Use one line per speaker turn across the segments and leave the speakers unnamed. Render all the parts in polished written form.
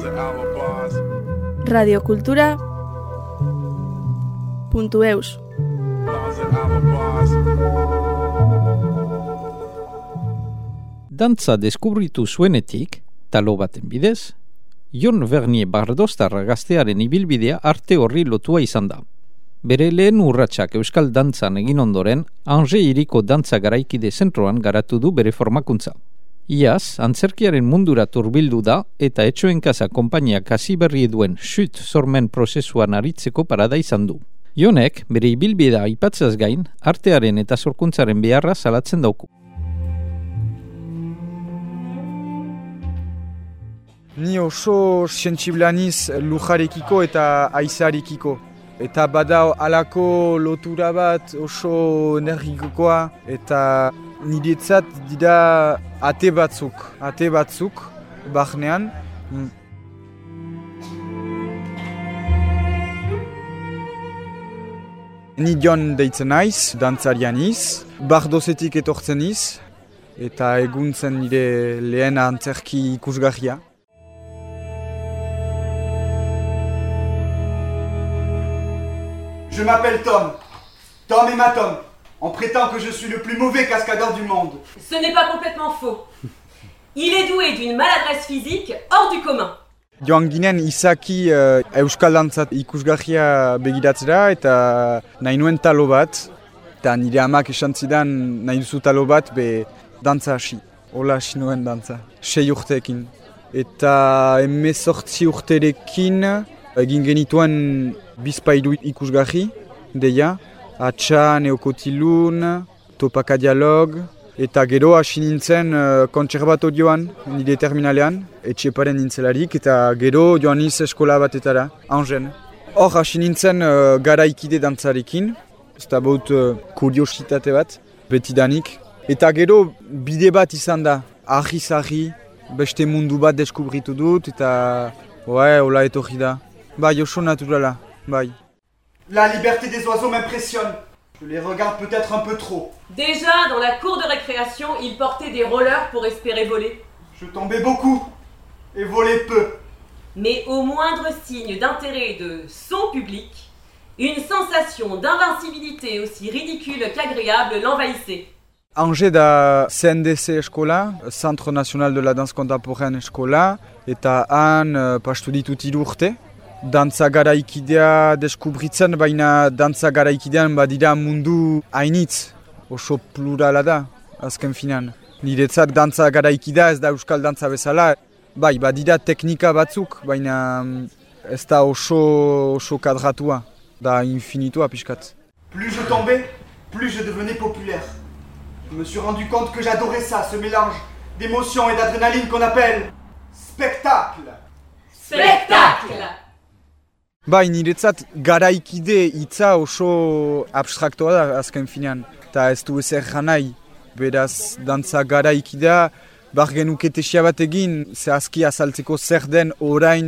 Radiokultura.eus
Dantza deskubritu zuenetik, talo baten bidez, Jon Vernier Bardostarra gaztearen ibilbidea arte horri lotua izan da. Bere lehen urratsak euskal dantzan egin ondoren, Angers hiriko dantza garaikide zentroan garatu du bere formakuntza. Iaz, antzerkiaren mundura turbildu da eta Etxoen Kasa konpainiak hasi berri duen Chut sormen prozesuan aritzeko parada izan du. Jonek, bere ibilbidea aipatzaz gain, artearen eta sorkuntzaren beharra salatzen dauku.
Ni oso sentsiblea niz lujarekiko eta haizearekiko. Eta bada halako lotura bat oso energikoa eta niretzat dira ate batzuk barnean. Ni Jon deitzen naiz, dantzaria niz, Bardosetik etortzen niz, eta eguntzen nire lehen antzerki ikusgarria.
Je m'appelle Tom. Tom et Matom. On prétend que je suis le plus mauvais cascadeur du monde.
Ce n'est pas complètement faux. Il est doué d'une maladresse physique hors du commun.
Joan ginen izaki euskal dantzat ikusgarria begiratzera eta nahi nuen talo bat. Eta nire amak esan zidan nahi duzu talo bat be dantza hasi. Hola hasi nuen dantza. 6 urteekin. Eta 18 urterekin egin genituen bizpairu ikusgarri, deia, Atxa, Neokotilun, Topaka Dialog, eta gero hasi nintzen kontserbatorioan, nire terminalean, Etxeparen nintzelarik, eta gero joan niz eskola batetara, Angers. Hor hasi nintzen garaikide dantzarekin, ez da baut kuriositate bat, betidanik. Eta gero bide bat izan da, ahi-zahi, beste mundu bat deskubritu dut, eta hola etorri da. Bai, oso naturala, bai.
La liberté des oiseaux m'impressionne. Je les regarde peut-être un peu trop.
Déjà, dans la cour de récréation, il portait des rollers pour espérer voler.
Je tombais beaucoup et volais peu.
Mais au moindre signe d'intérêt de son public, une sensation d'invincibilité aussi ridicule qu'agréable l'envahissait.
Angers da CNDC eskola, Centre National de la Danse Contemporaine eskola, eta han pastu ditut 3 urte. Dantza garaikidea deskubritzen, baina dantza garaikidean badira mundu hainitz, oso plurala da, azken finan. Niretzat dantza garaikidea ez da euskal dantza bezala, bai, badira teknika batzuk, baina ez da oso kadratua, da infinitua pixkat.
Plus je tombais, plus je devenais populaire. Je me suis rendu compte que j'adorais ça, ce mélange d'émotion et d'adrénaline qu'on appelle spectacle.
Spectacle!
Bai, niretzat garaikide hitza oso abstraktoa da azken finean, eta ez du ezer janai. Beraz, dantza garaikidea, bar genuke tesia bat egin, zehazki azaltzeko zer den orain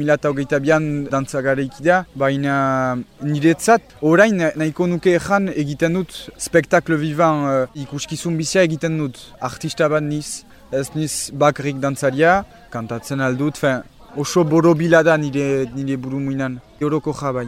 2022an dantza garaikidea, baina niretzat orain nahiko nuke ezan egiten dut spektakle vivant, ikuskizun bizia egiten dut. Artista bat niz, ez niz bakrik dantzaria, kantatzen aldut, oso borobila da nire buru muinan, euroko jabai.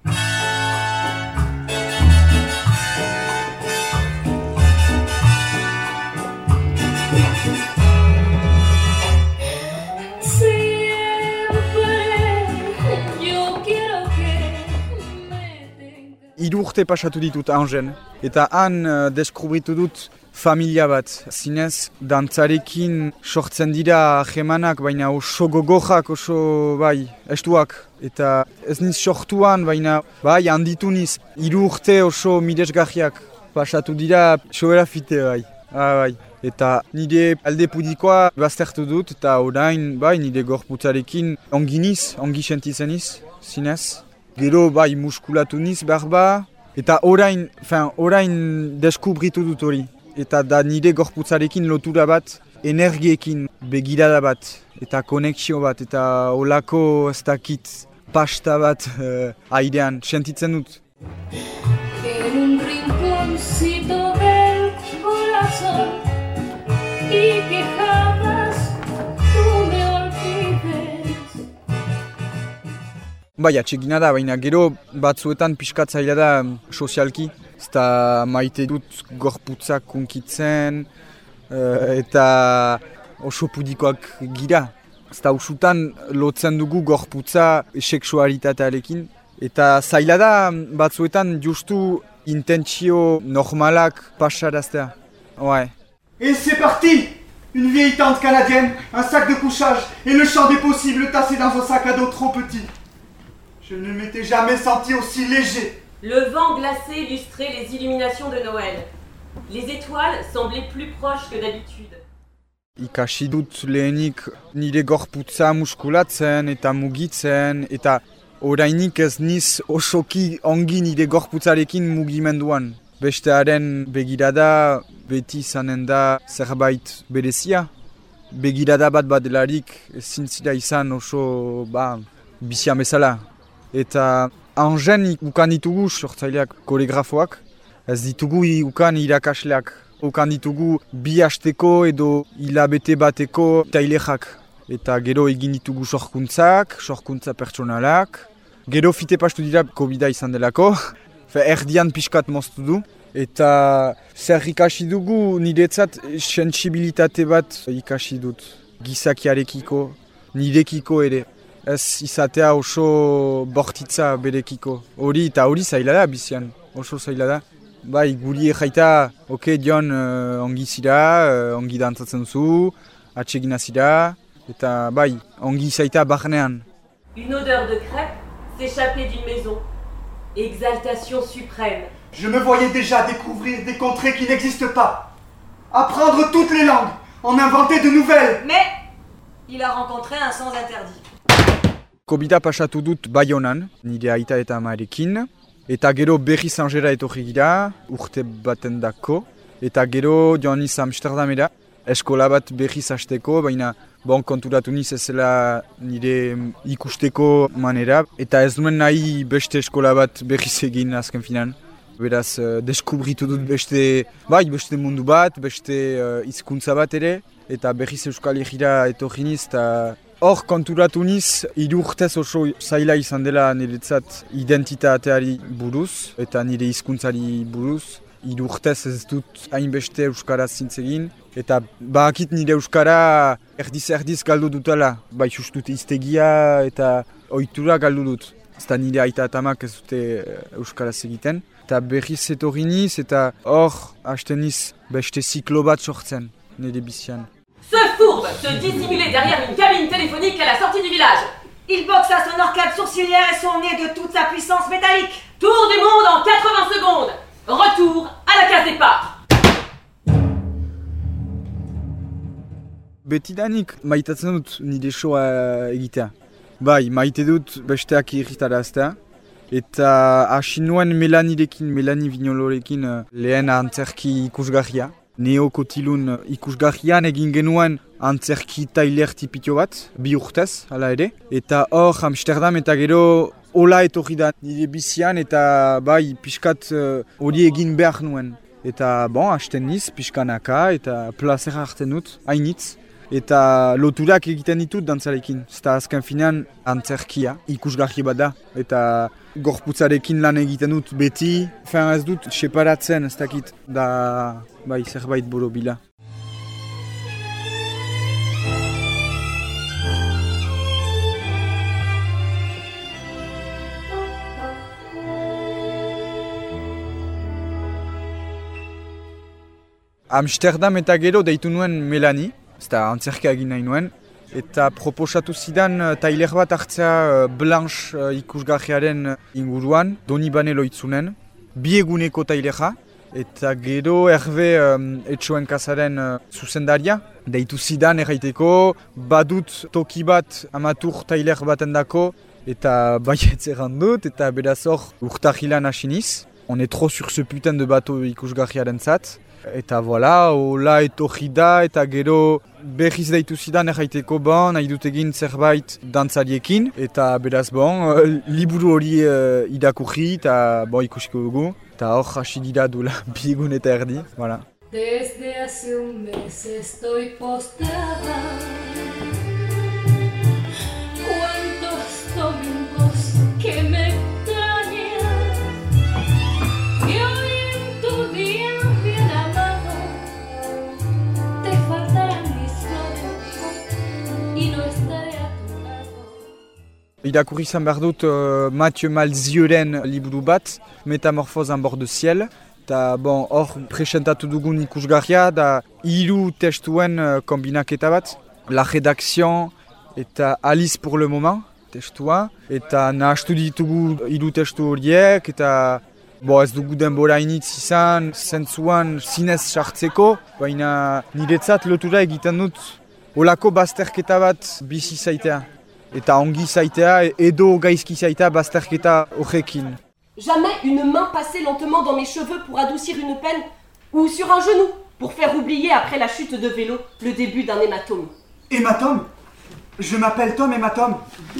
Hiru urte pasatu ditut Angers, eta han deskubritu dut familia bat. Zinez, dantzarekin sortzen dira jemanak, baina oso gogojak, oso estuak. Eta ez niz sortuan, baina handitu niz. 3 urte oso miresgarriak pasatu dira, sobera fite bai. Eta nire alde pudikoa baztertu dut, eta orain nire gorputzarekin ongi sentitzen niz, zinez. Gero muskulatu niz behar eta orain deskubritu dut hori. Eta da nire gorputzarekin lotura bat, energiekin begirada bat, eta konexio bat, eta olako ez dakit pasta bat airean, sentitzen dut.
En un rinconcito del corazón y que jamás tú me olvides.
Bai, atsegina da, baina gero batzuetan pixkat zaila da sozialki. Eta maite dut gorputzak unkitzen eta oso pudikoak gira. Eta usutan lotzen dugu gorputza seksualitatearekin. Eta zaila da batzuetan justu intentsio normalak pasaraztea. Ouais.
Et c'est parti! Une vieille tente canadienne, un sac de couchage et le champ des possibles tassé dans un sac à dos trop petit. Je ne m'étais jamais senti aussi léger.
Le vent glacé illustrait les illuminations de Noël. Les étoiles semblaient plus proches que d'habitude.
Ikasi dut lehenik nire gorputza muskulatzen eta mugitzen eta orainik ez niz osoki ongi nire gorputzarekin mugimenduan. Bestearen begirada beti izanen da zerbait berezia. Begirada bat badelarik ezin zira izan oso bizia bezala. Eta angen ukan ditugu sortzaileak koreografoak, ez ditugu ukan irakasleak. Ukan ditugu bi hasteko edo hilabete bateko tailexak. Eta gero egin ditugu sorkuntza pertsonalak. Gero fite pastu dira COVID-a izan delako. Erdian pixkat moztu du. Eta zer ikasi dugu niretzat sensibilitate bat ikasi dut. Gizakiarekiko, nirekiko ere. Ez izatea oso bortitza berekiko. Hori zaila da bizian, oso zaila da. Bai, guri jaita, Jon, ongi zira, ongi dantzatzen zu, atsegina zira, eta bai, ongi zaita barnean.
Une odeur de crêpe s'échappait d'une maison. Exaltation suprême.
Je me voyais déjà découvrir des contrées qui n'existent pas. Apprendre toutes les langues, en inventer de nouvelles.
Mais il a rencontré un sans interdit.
COVID-a pasatu dut Baionan, nire aita eta amarekin. Eta gero berriz Angera etorri gira, urte baten dako. Eta gero joan niz Amsterdamera, eskola bat berriz hasteko, baina konturatu niz ezela nire ikusteko manera. Eta ez duen nahi beste eskola bat berriz egin azken finan. Beraz, deskubritu dut beste mundu bat, beste hizkuntza bat ere. Eta berriz Euskal Herrira etorri niz, eta hor konturatu niz, 3 urtez oso zaila izan dela niretzat identitateari buruz, eta nire hizkuntzari buruz. 3 urtez ez dut hainbeste Euskaraz zintzegin, eta bakit nire Euskara erdiz galdu dutela. Bai justut iztegia eta ohitura galdu dut. Eta nire aita eta amak ez dute Euskaraz egiten. Eta berriz etorri niz, eta hor hasten niz beste ziklo bat sortzen nire bizian.
Ce fourbe se dissimulait derrière une cabine téléphonique à la sortie du village.
Il boxe à son arcade sourcilière et son nez de toute sa puissance métallique.
Tour du monde en 80 secondes. Retour à la case départ.
Betidanik maitatzen dut nire shoa egitea. Bai, maite dut besteak irritaraztea. Eta hasi nuen Melanie Vignolorekin lehen antzerki ikusgarria. Neokotilun ikusgarrian egin genuen antzerki tailer tipitio bat, 2 urtez, hala ere. Eta hor Amsterdam eta gero hola etorri da nire bizian eta bai pixkat hori egin behar nuen. Eta hasten niz pixkanaka eta plazera hartzen dut, hainitz. Eta loturak egiten ditut dantzarekin. Eta azken finean antzerkia ikusgarri bat da. Eta gorputzarekin lan egiten dut beti. Ez dut separatzen ez dakit da bai zerbait borobila. Amsterdam eta gero deitu nuen Melanie. Eta antzerkia egin nahi nuen. Eta proposatu zidan tailer bat hartzea Blanche ikusgarriaren inguruan, Donibane loitzunen. 2 eguneko tailera. Eta gero Herve Etxoen kasaren zuzendaria. Deitu zidan erraiteko, badut toki bat amatur tailer baten dako. Eta baietz errandut, eta beraz hor urtahilan hasi niz. On est trop sur ce putain de bateau ikusgarriaren zat. Eta voilà, hola etorri da eta gero berriz deitu zidan erraiteko nahi dut egin zerbait dantzariekin. Eta beraz liburu hori irakurri eta ikusiko dugu. Eta hor hasi dira duela 2 egun eta erdi, voilà.
Desde hace un mes estoy postrada. Cuántos domingos yo estaré a tu lado.
Irakurri izan behar dut Mathieu Malzieuren liburu bat, Metamorphose en bord de ciel. Eta hor presentatu dugun ikusgarria da 3 testuen kombinaketa bat. La rédaction eta Alice pour le moment testua. Eta nahastu ditugu 3 testu horiek eta ez dugu denbora initz izan, zentzuan zinez sartzeko, baina niretzat lotura egiten dut olako bazterketa bat bizi zaitea. Eta ongi zaitea edo gaizki zaitea bazterketa horrekin.
Jamais une main passait lentement dans mes cheveux pour adoucir une peine, ou sur un genou, pour faire oublier après la chute de vélo le début d'un hématome.
Hématome? Je m'appelle Tom Hématome.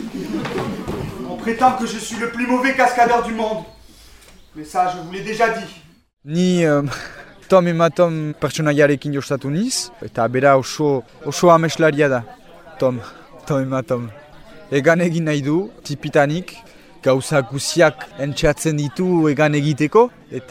On prétend que je suis le plus mauvais cascadeur du monde. Mais ça, je vous l'ai déjà dit.
Ni Tom Hématome pertsonaiarekin jostatu niz, eta bera oso ameslaria da, Tom Hématome. Egan egin nahi du, tipitanik, gauza guziak entxeatzen ditu egan egiteko,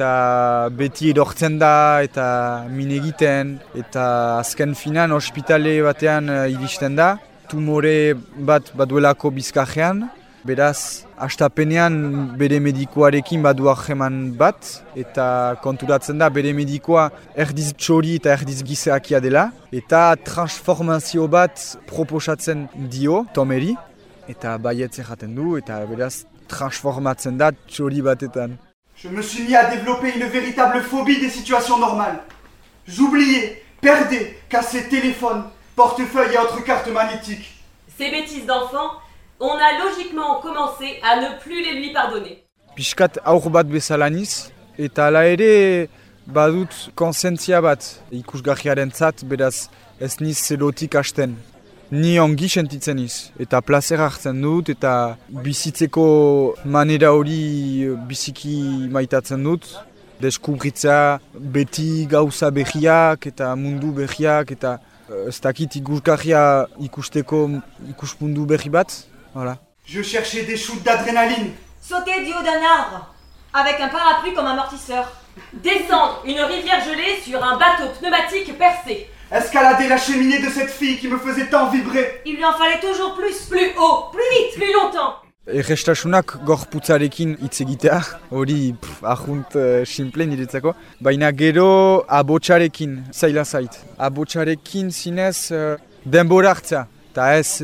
eta beti edortzen da, eta min egiten, eta azken finan ospitale batean iristen da, tumore bat baduelako bizkarrean, beraz, hastapenean bere medikoarekin badu harreman bat, eta konturatzen da bere medikoa erdiz txori eta erdiz gizeakia dela, eta transformazio bat proposatzen dio, Tomeri, eta baietz erraten du, eta beraz transformatzen da txori batetan.
Je me suis mis à développer une véritable phobie des situations normales. J'oubliais, perdais, cassais téléphone, portefeuille et autres cartes magnétiques.
Ces bêtises d'enfant, on a logiquement commencé à ne plus les lui pardonner.
Piskat aur bat bezala niz, eta hala ere badut konsentzia bat ikusgarriarentzat, beraz ez niz zerotik hasten. Ni ongi sentitzen niz, eta plazer hartzen dut, eta bizitzeko manera hori biziki maitatzen dut. Deskubritzea beti gauza behiak eta mundu behiak, eta ez dakit ikusgarria ikusteko ikuspundu behi bat. Voilà.
Je cherchais des shoots d'adrénaline.
Sauter du haut d'un arbre, avec un parapluie comme amortisseur.
Descendre une rivière gelée sur un bateau pneumatique percé.
Escalader la cheminée de cette fille qui me faisait tant vibrer.
Il lui en fallait toujours plus.
Plus haut, plus vite, plus longtemps.
Errestasunak gorputzarekin hitz egitea, hori ahunt simple niretzako. Baina gero abotsarekin, zaila zait. Abotsarekin zinez denbora hartzea. Eta ez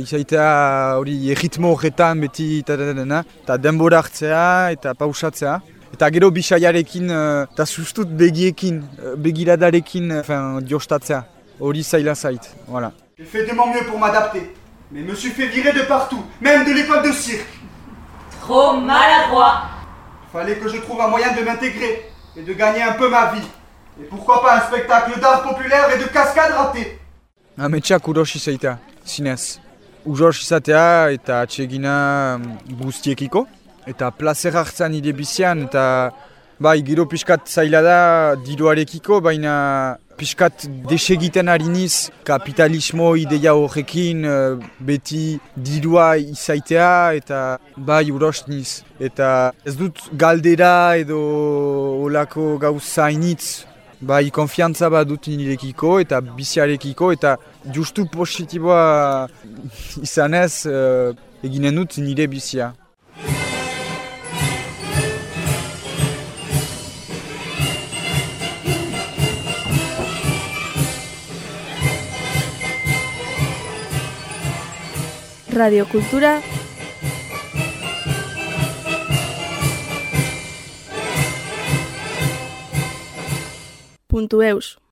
izaitea hori erritmo horretan beti eta denbora hartzea eta pausatzea. Eta gero bisaiarekin eta sustut begiekin, begiradarekin jostatzea. Hori zaila zait, voilà.
J'ai fait de mon mieux pour m'adapter, mais me suis fait virer de partout, même de l'école de cirque.
Trop maladroit.
Fallait que je trouve un moyen de m'intégrer et de gagner un peu ma vie. Et pourquoi pas un spectacle d'art populaire et de cascade ratée.
Ametsak urosi zaitea, zinez. Uros izatea eta atsegina guztiekiko. Eta plazer hartzen nire bizian, eta gero pixkat zaila da diruarekiko, baina pixkat desegiten ari niz kapitalismo ideia horrekin beti dirua izaitea, eta uros niz. Eta ez dut galdera edo olako gauza initz, konfiantza bat dut nirekiko eta biziarekiko, eta justu positiboa izanez eginen dut nire bizia.
Radio Kultura .eus